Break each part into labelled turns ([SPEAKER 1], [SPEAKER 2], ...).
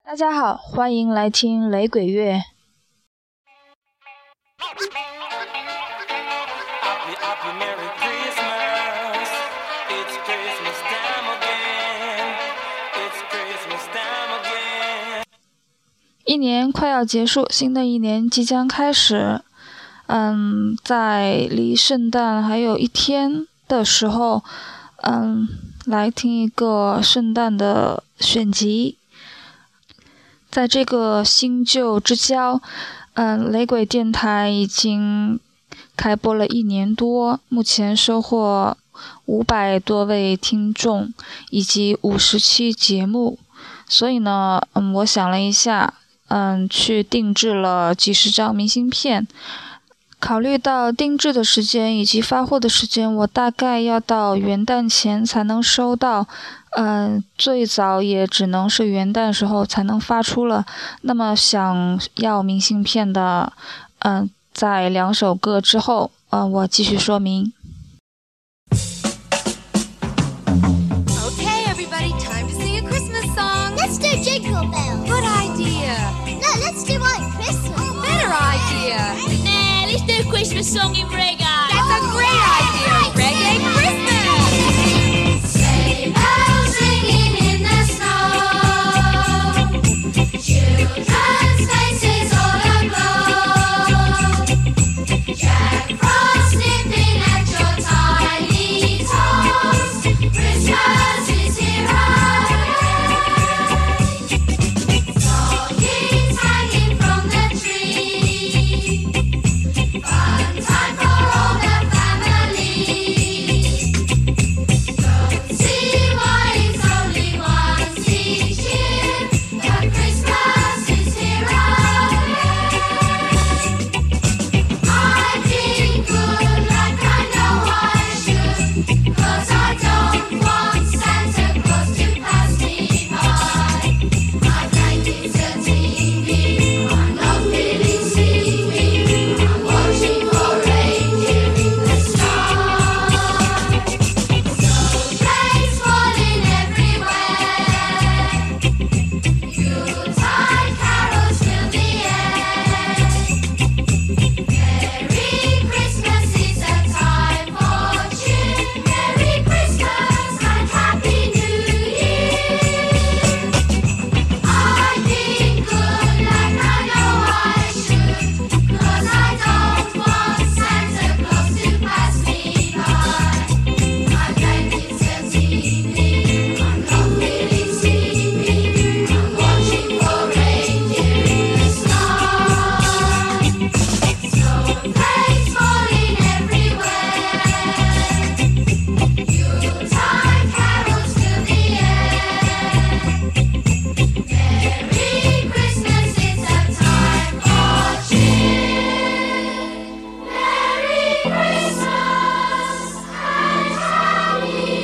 [SPEAKER 1] 大家好，欢迎来听雷鬼乐。一年快要结束，新的一年即将开始。在离圣诞还有一天的时候，来听一个圣诞的选集。在这个新旧之交，雷鬼电台已经开播了1年多，目前收获500多位听众以及50期节目，所以呢，我想了一下，去定制了几十张明信片。考虑到定制的时间以及发货的时间，我大概要到元旦前才能收到，最早也只能是元旦时候才能发出了。那么想要明信片的，在2首歌之后，我继续说明。
[SPEAKER 2] Okay, everybody, time to sing a Christmas song.
[SPEAKER 3] Let's do Jingle Bells.
[SPEAKER 2] Good idea.
[SPEAKER 3] No, let's do White Christmas.
[SPEAKER 2] Better idea.
[SPEAKER 4] Nah, let's do a Christmas song in reggae.
[SPEAKER 2] That's a great idea. Reggae Christmas.
[SPEAKER 3] Sleigh bells ringing in the snow. Children's faces all aglow. Jack Frost nipping at your tiny toes. Christmas is here already. Stockings hanging from the tree. Fun time for all the family. Don't see why it's only once each year. The Christmas is here already. I feel good like I know I should, 'cause I don't want Santa Claus to pass me by. My blankets are teeming, I'm not feeling sleepy. I'm watching for reindeer in the sky. Snowflakes falling everywhere. Yuletide carols fill the air. Merry Christmas is a time for cheer. Merry Christmas and Happy New Year. I feel good like I know I should, 'cause I don't want Santa Claus to pass me by. My blankets are teeming, I'm not feeling sleepy. I'm watching for reindeer in the sky. Snowflakes falling everywhere. Yuletide carols fill the air. Merry Christmas, it's a time for cheer. Merry Christmas and Happy New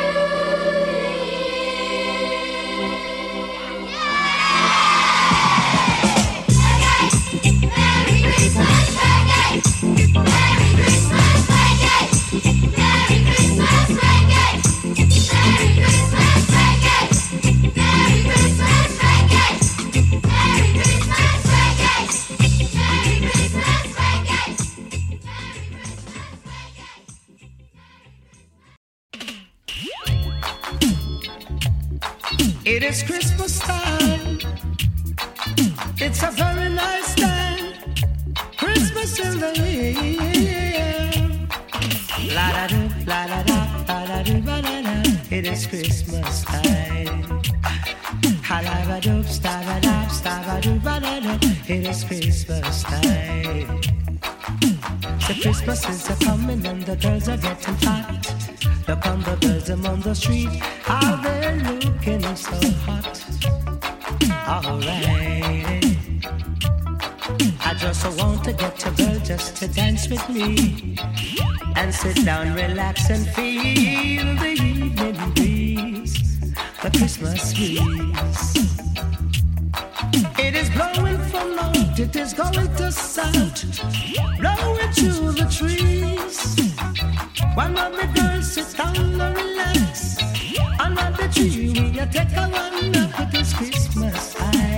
[SPEAKER 3] Year. Merry Christmas, reggae. Merry Christmas, reggae. Merry Christmas, reggae. Merry Christmas, reggae. Merry Christmas, reggae. Merry Christmas, reggae. Merry Christmas, reggae.
[SPEAKER 5] It is Christmas time. It's a very nice time. Christmas in the air. La da do, la da da, la da do, ba da da. It is Christmas time. Ha la ba do, sta ba da, sta ba do, ba da da. It is Christmas time. The Christmas is a coming and the girls are getting hot. Look on the girls them on the street, how they're looking so hot. Alright, I just want to get a girl just to dance with me and sit down, relax and feel the evening breeze, the Christmas breeze. It is blowing from north, it is going to south, blowing through the trees. One of the girls sit down and relax under the tree. We take a one up with this Christmas high.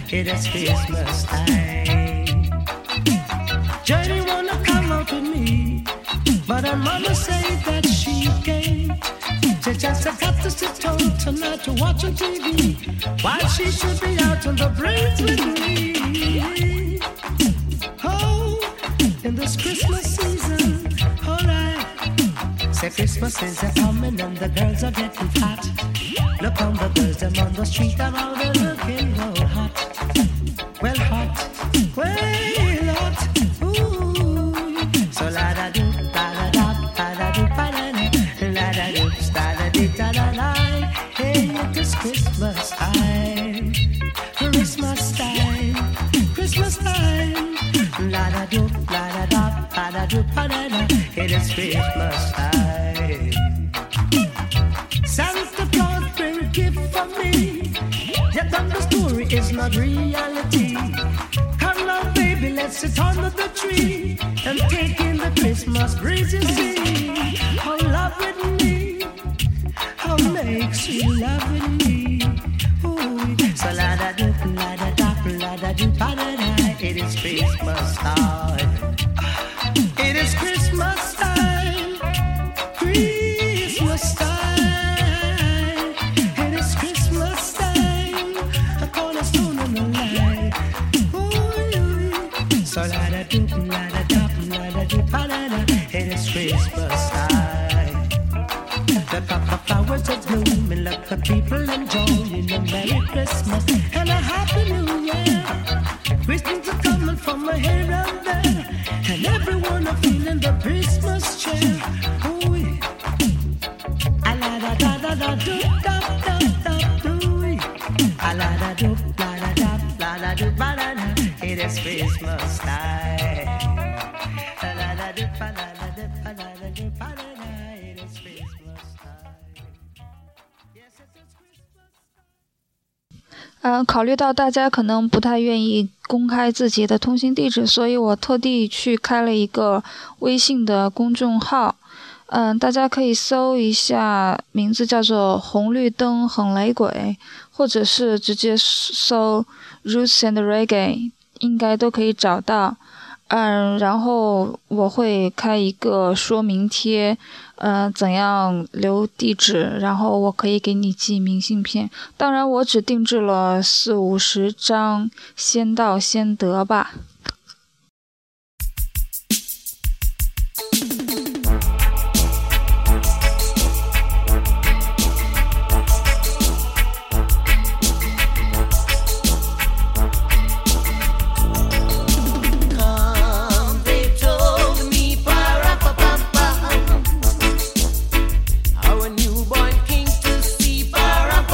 [SPEAKER 5] it is Christmas time. Johnny wanna come out with me, but her mama say that she can't. She just got to sit home tonight to watch on TV, while she should be out on the breeze with me. Oh, in this Christmas season, alright. Say Christmas is a coming and the girls are getting hot. Look on the girls, them on the street, and all they're looking all hot. Well hot, well hot, ooh. So la da do, la da do, ba da da, la da do, da da dee da da da. Hey, it is Christmas time, Christmas time, Christmas time. La da do, la da do, ba da da. It is Christmas time. Santa Claus bring a gift for me. Yet then the story is not reality. Come now, baby, let's sit under the tree and take in the Christmas breeze. You see, how love with me, how makes you love with me. Ooh, so la da do, la da da, la da do, ba da da. It is Christmas time. It is Christmas time. Christmas time. It is Christmas time. A cornerstone in the light. Ooh, so la da do, la da da, la da do, ba da da. It is Christmas time. The papa flowers are blooming, let the people enjoying a Merry Christmas and a Happy New Year. Christmas are coming from here and there, and everyone are feeling the Christmas cheer. Ooh, a la da da da da do da da da do. A la da do, la da do, ba da da. It is Christmas time. La la da do, ba la da do, ba la da do, ba da da. It is Christmas time. Yes, it is Christmas time.
[SPEAKER 1] 考虑到大家可能不太愿意公开自己的通信地址，所以我特地去开了一个微信的公众号。大家可以搜一下，名字叫做红绿灯很雷鬼，或者是直接搜 Roots and Reggae， 应该都可以找到。然后我会开一个说明贴，怎样留地址，然后我可以给你寄明信片。当然我只定制了40-50张，先到先得吧。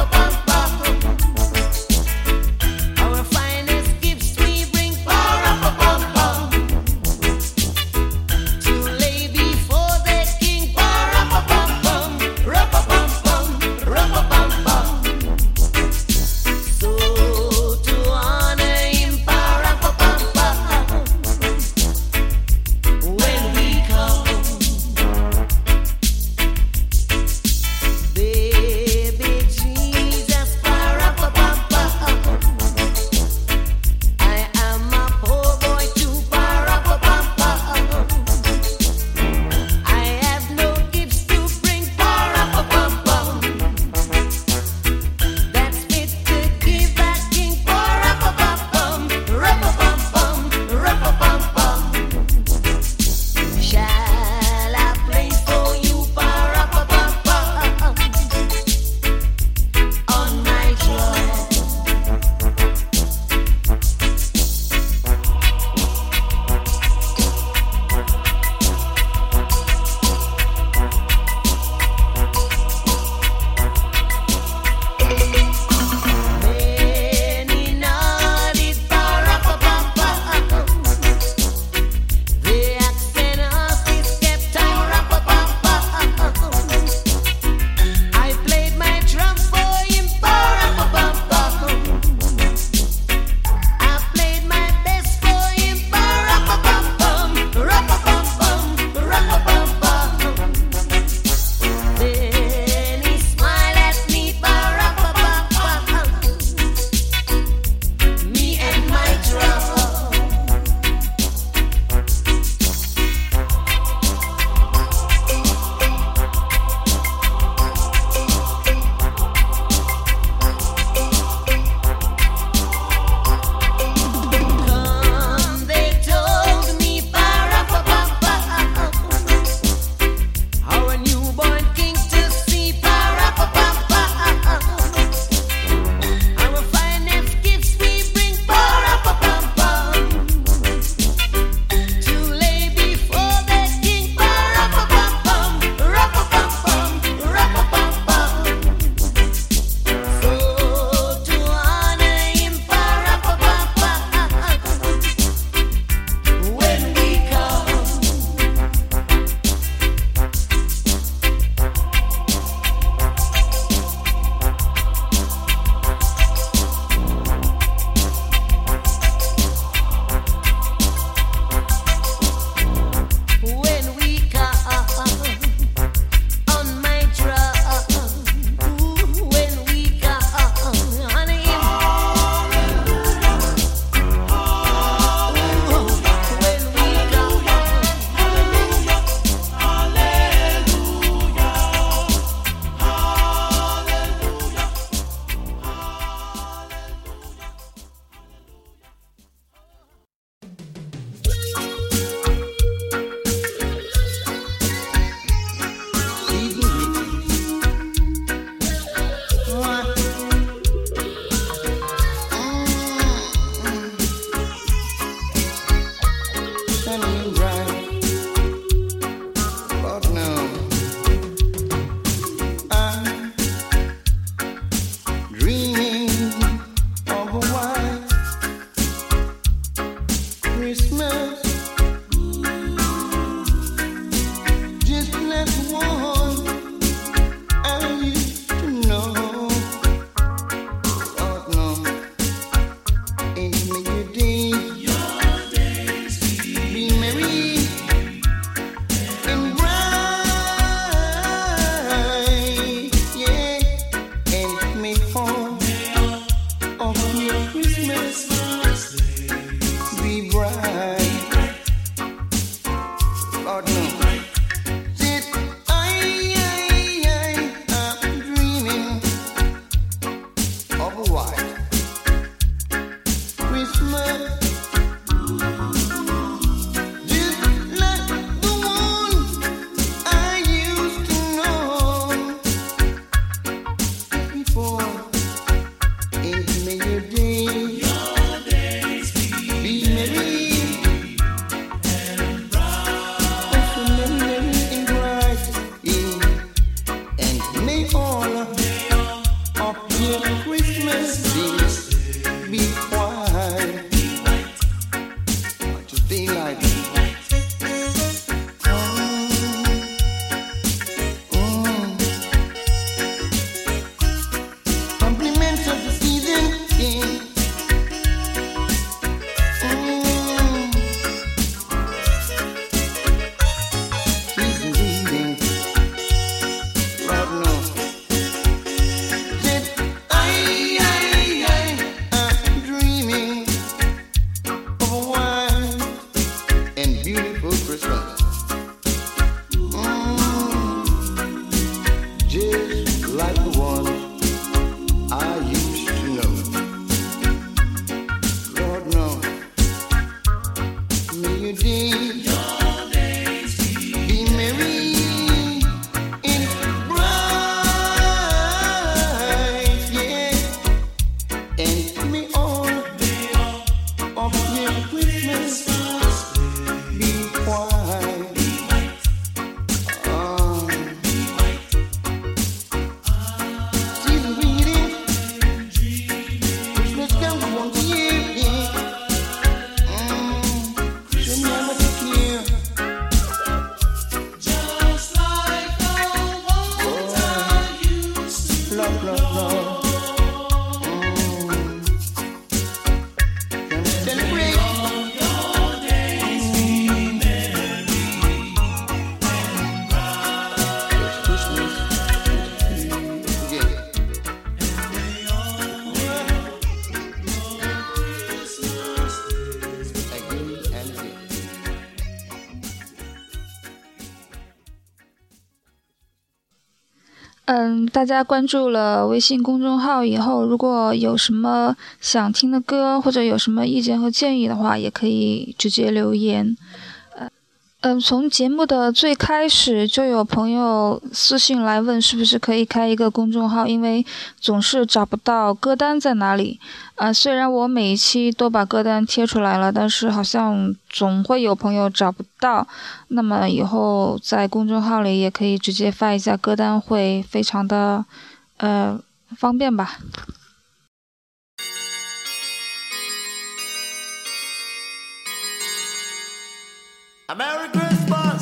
[SPEAKER 3] Our finest gifts we bring for
[SPEAKER 6] and may your days be merry and bright, yeah, and may all of your Christmas be bright. Lord knows. That I'm dreaming of a white Christmas, just like the one I used to know before. And may your days be merry, oh, so merry and bright, yeah. And may all of your Christmases be white. What you feel like? Compliments of the season, yeah. Season greetings, Lord knows. That I'm dreaming of a white and beautiful Christmas. Just like the one I used to know. Lord knows. May your days be merry and bright, yeah. And may all of your Christmas be white. Season greeting, Christmas comes once a year, yeah. Should never take care. Just like the one I used to love. Gonna celebrate. It's Christmas. Yeah. Again and again.
[SPEAKER 1] 大家关注了微信公众号以后，如果有什么想听的歌，或者有什么意见和建议的话，也可以直接留言。从节目的最开始就有朋友私信来问是不是可以开一个公众号，因为总是找不到歌单在哪里。虽然我每一期都把歌单贴出来了，但是好像总会有朋友找不到。那么以后在公众号里也可以直接发一下歌单，会非常的方便吧。
[SPEAKER 6] A Merry Christmas.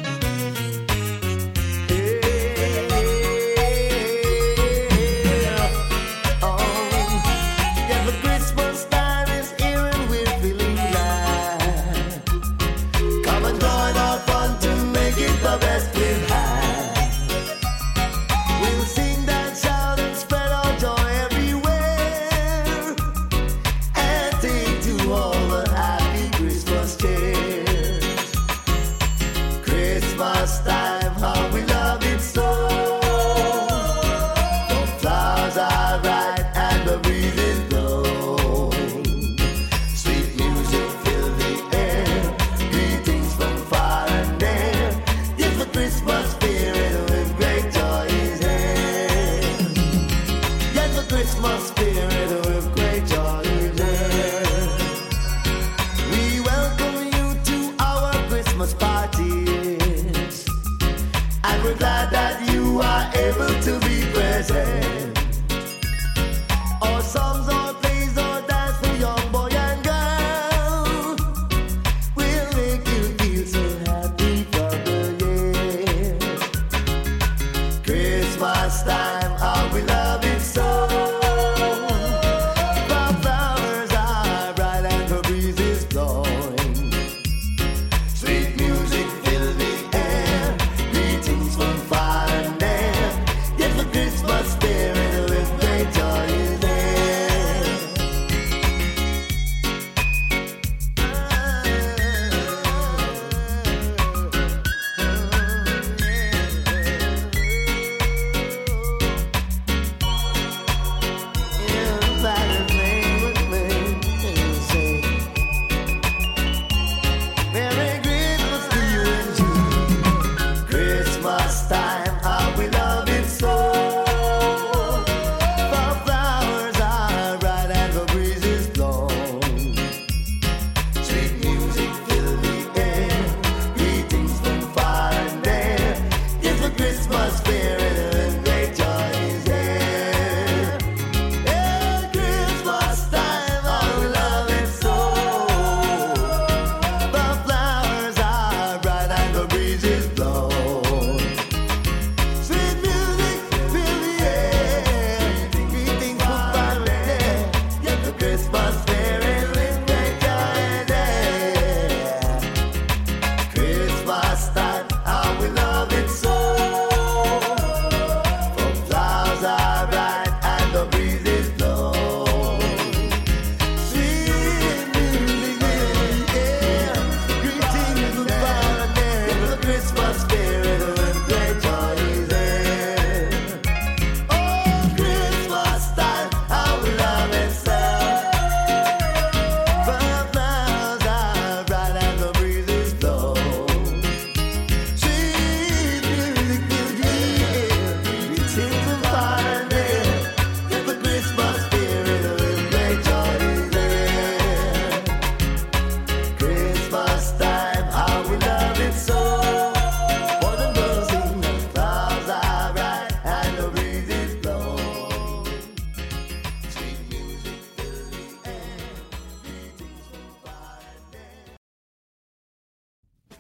[SPEAKER 6] Yeah. Oh, yeah, the Christmas time is here and we're feeling glad. Come and join our fun to make it the best we've had. We'll sing, dance, shout, and spread our joy everywhere, and take to all the happy Christmas cheer.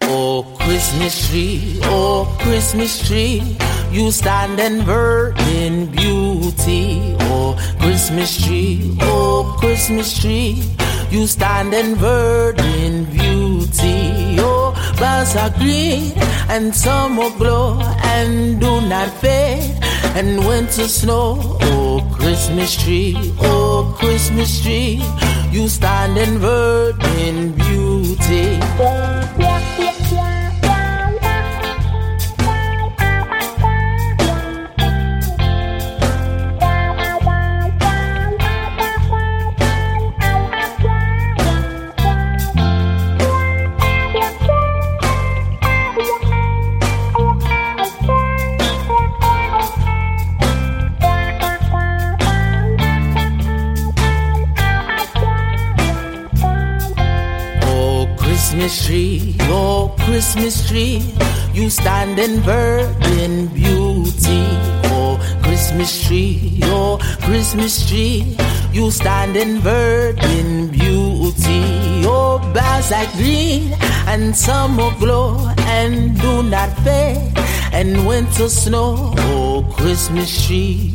[SPEAKER 7] Oh, Christmas tree, you stand and bird in beauty. Oh, Christmas tree, you stand and bird in beauty. Oh, boughs are green and summer glow and do not fade, and winter snow. Oh, Christmas tree, you stand and bird in beauty. Christmas tree, you stand and bird in beauty. Oh, Christmas tree, you stand and bird in beauty. Oh, boughs are green and summer glow and do not fade, and winter snow. Oh, Christmas tree,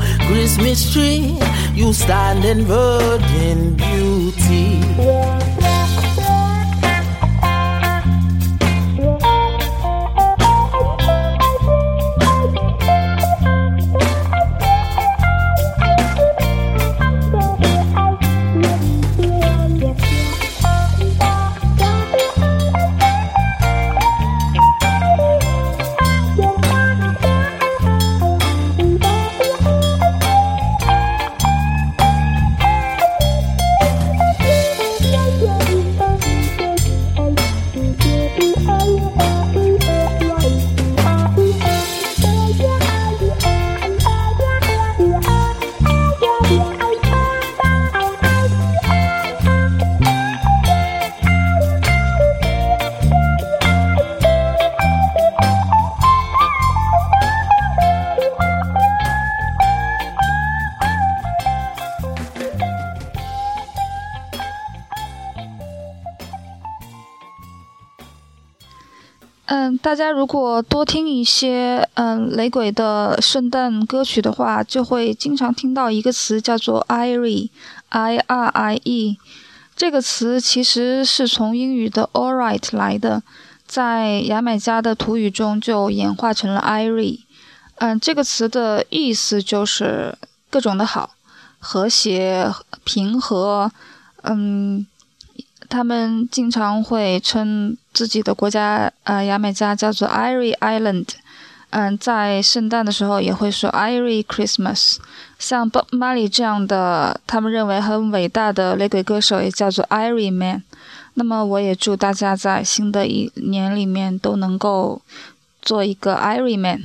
[SPEAKER 7] you stand and bird in beauty.
[SPEAKER 1] 大家如果多听一些雷鬼的圣诞歌曲的话，就会经常听到一个词叫做 IRIE。这个词其实是从英语的 alright 来的，在牙买加的土语中就演化成了 IRIE。这个词的意思就是各种的好，和谐、平和。他们经常会称自己的国家牙买加叫做 Irie Island。在圣诞的时候也会说 Irie Christmas。像 Bob Marley 这样的他们认为很伟大的雷鬼歌手也叫做 Irie Man。那么我也祝大家在新的一年里面都能够做一个 Irie Man。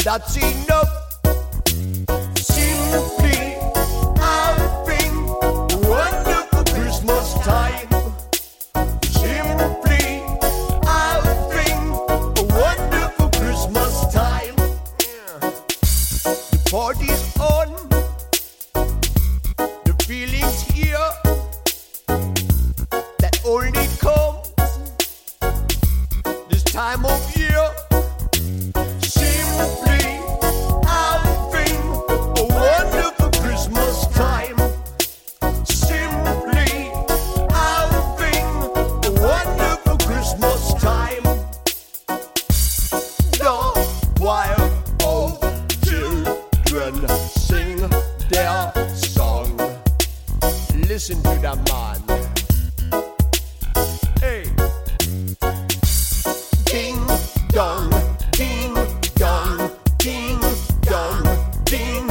[SPEAKER 6] that's enough. Simply having a wonderful Christmas time. Simply having a wonderful Christmas time. The party's on, the feeling's here, that only comes this time of year. Simply having a wonderful Christmas time. Simply having a wonderful Christmas time. The choir of children sing their song. Listen to that man. Hey. Ding dong, ding dong, ding dong, ding.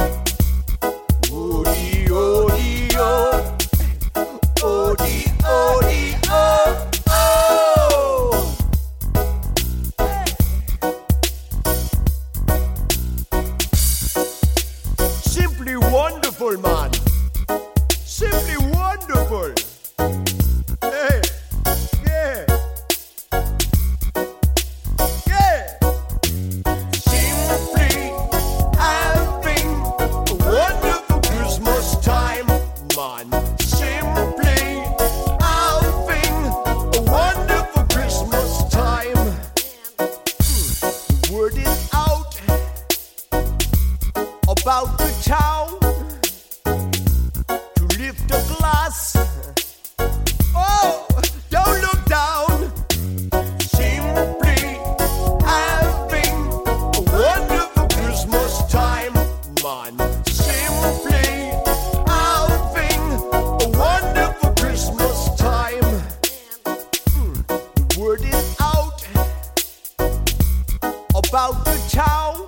[SPEAKER 6] Odie, odie, oh. Odie, odie, oh, oh. Simply wonderful, man. Simply wonderful. Hey, yeah. Yeah. Simply having a wonderful Christmas time, man. Simply having a wonderful Christmas time. The word is out about the town to lift a glass. Oh, don't look down. Simply having a wonderful Christmas time, man. Simply having a wonderful Christmas time. The word is out about the town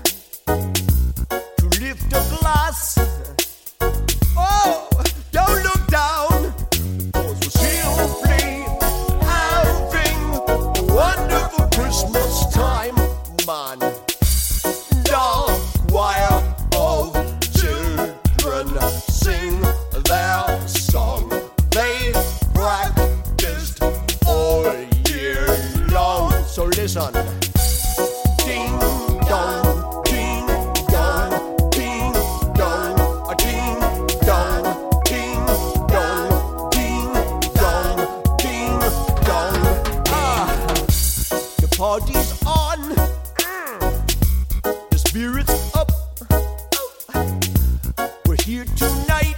[SPEAKER 6] to lift a glass. Oh, don't look down. 'Cause we're simply having a wonderful Christmas time, man. The choir of children sing their song. They practiced all year long. So listen. Ding dong, ding dong, ding dong, a ding dong, ding dong, ding dong, ding dong. The party's on, the spirit's up. We're here tonight,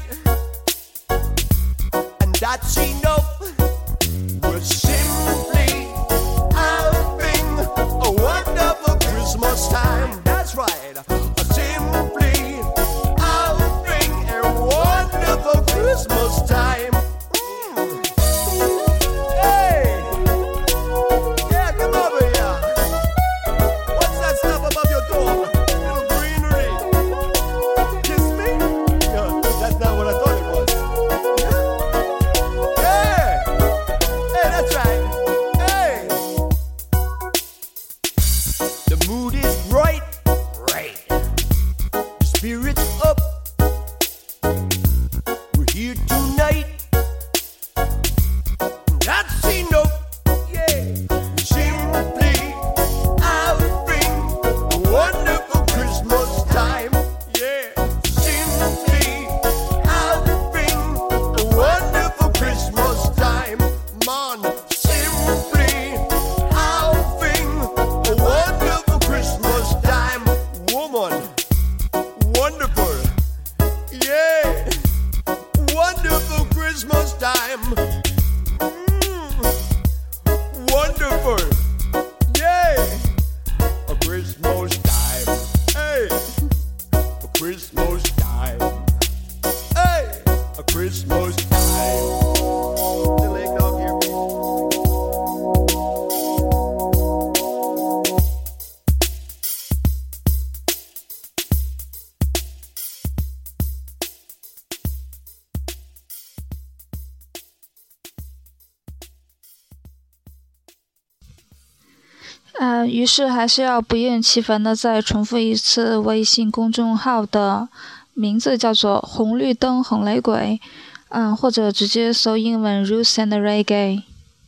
[SPEAKER 6] and that's enough. We're simply having a wonderful Christmas time. That's right. Simply having a wonderful Christmas time. Hey! Yeah, come over here. What's that stuff above your door? Little greenery. Kiss me? Yeah, that's not what I thought it was. Yeah! Hey, that's right. Hey! The mood is right. Right. The spirit's up. We're here tonight. That's enough. Yeah. Simply having a wonderful Christmas time. Yeah. Simply having a wonderful Christmas time, man. Simply having a wonderful Christmas time, woman. Wonderful. Yeah. Wonderful Christmas time. Wonderful. Yeah. A Christmas time. Hey. A Christmas time. Hey. A Christmas time. Little eggnog here.
[SPEAKER 1] 于是还是要不厌其烦的再重复一次微信公众号的名字，叫做红绿灯很雷鬼，或者直接搜英文 Roots and Reggae。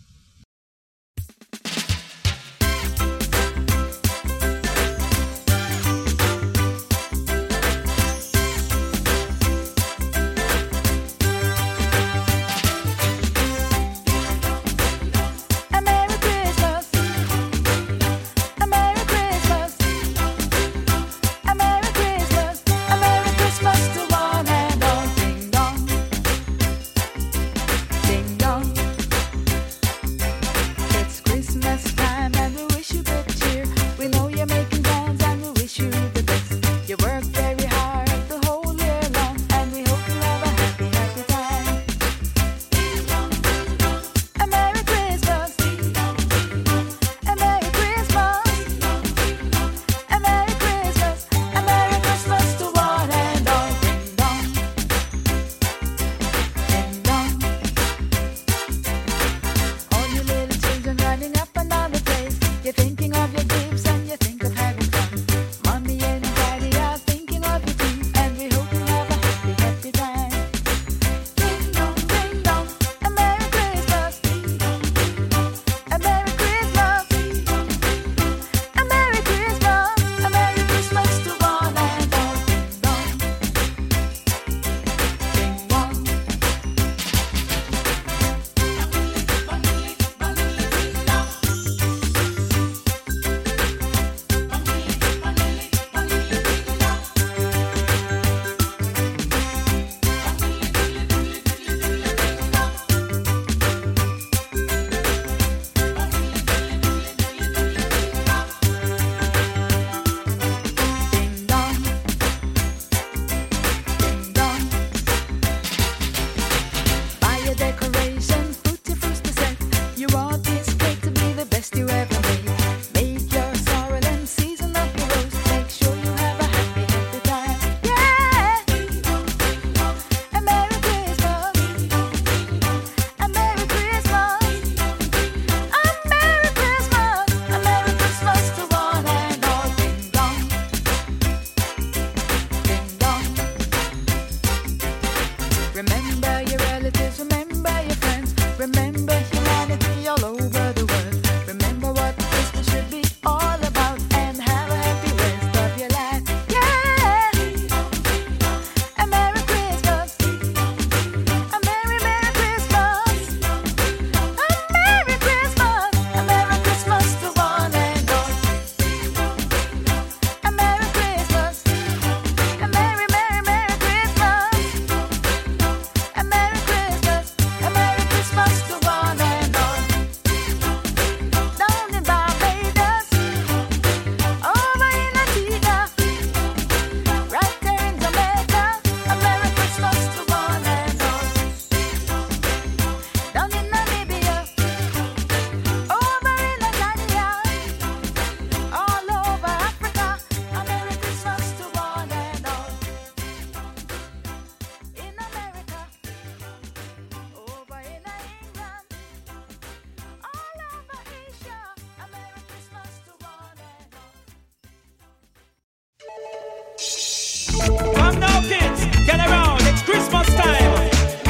[SPEAKER 5] Come now, kids, get around. It's Christmas time.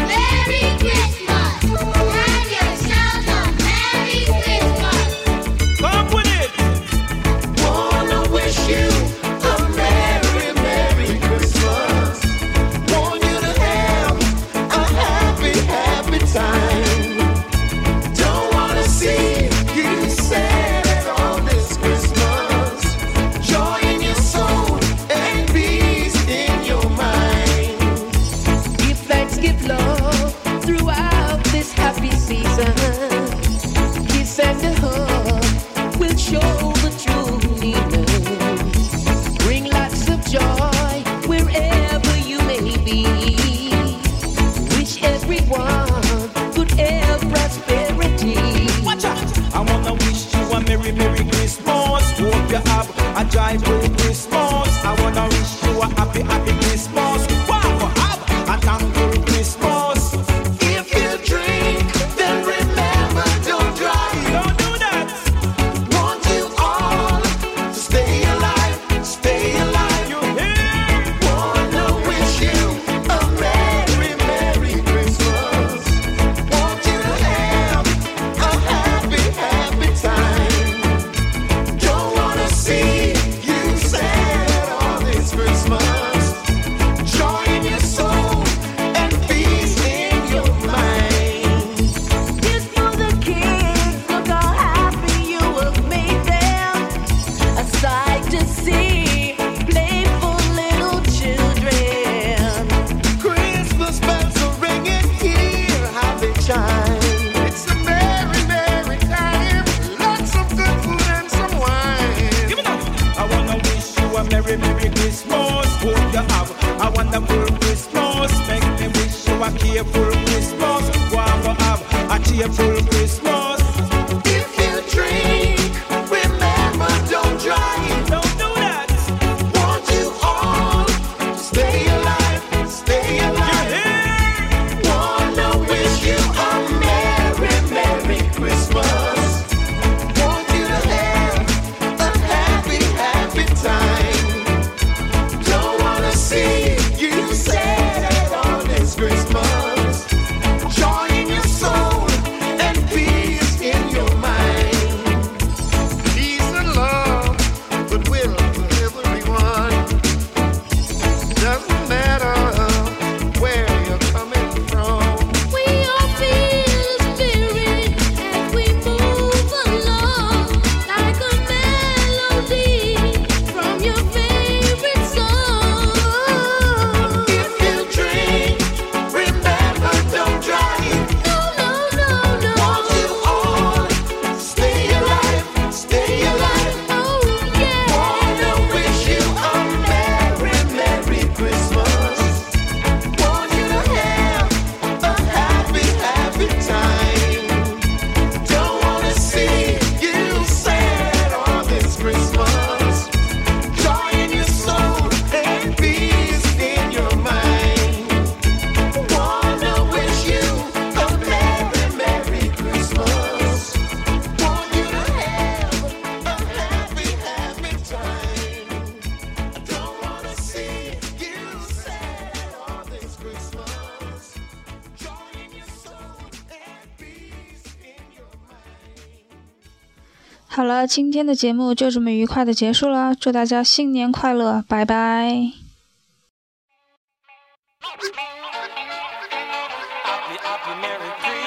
[SPEAKER 3] Merry Christmas! Have yourselves a Merry Christmas!
[SPEAKER 5] Come with it.
[SPEAKER 6] Wanna wish you a Merry, Merry Christmas. Want you to have a happy, happy time. Don't wanna see you sad on this Christmas. Joy in your soul and peace in your mind.
[SPEAKER 7] Give thanks, give love throughout this happy season. Kiss and a hug will show the true meaning. Bring lots of joy wherever you may be. Wish everyone good health, prosperity.
[SPEAKER 5] Watch out. I wanna wish you a Merry, Merry Christmas. Hope you have a joyful Christmas. I wanna wish you a happy, happy Christmas. Wow, have a thankful Christmas.
[SPEAKER 6] If you drink, then remember, don't drive.
[SPEAKER 5] Don't do that.
[SPEAKER 6] Want you all
[SPEAKER 5] Merry, Merry Christmas. Hope you have a wonderful Christmas. Make me wish you a careful Christmas. Want to have a cheerful Christmas.
[SPEAKER 6] If you drink, remember, don't drive.
[SPEAKER 5] Don't do that.
[SPEAKER 6] Want you all to stay alive, stay alive. Wanna wish you a Merry, Merry Christmas. Want you to have a happy, happy time. Don't wanna see you sad on this Christmas. Joy in your soul and peace in your mind. Peace and love, goodwill to everyone. Doesn't matter where you're coming from.
[SPEAKER 4] We all feel the spirit as we move along, like a melody from your favorite song.
[SPEAKER 6] If you drink, remember, don't drive.
[SPEAKER 4] No, no, no, no.
[SPEAKER 6] Want you all to stay alive, stay alive.
[SPEAKER 4] Oh, yeah.
[SPEAKER 6] Wanna wish you a Merry, Merry Christmas. Want you to have a happy, happy time. Don't wanna see you sad on this Christmas. Joy in your soul and peace in your mind. Wanna wish you a Merry, Merry Christmas. Want you to have a happy, happy time. Don't wanna see you sad on this Christmas. Joy in your soul and peace in your mind.
[SPEAKER 1] 好了，今天的节目就这么愉快的结束了，祝大家新年快乐，拜拜。
[SPEAKER 5] Happy, happy, Merry Christmas.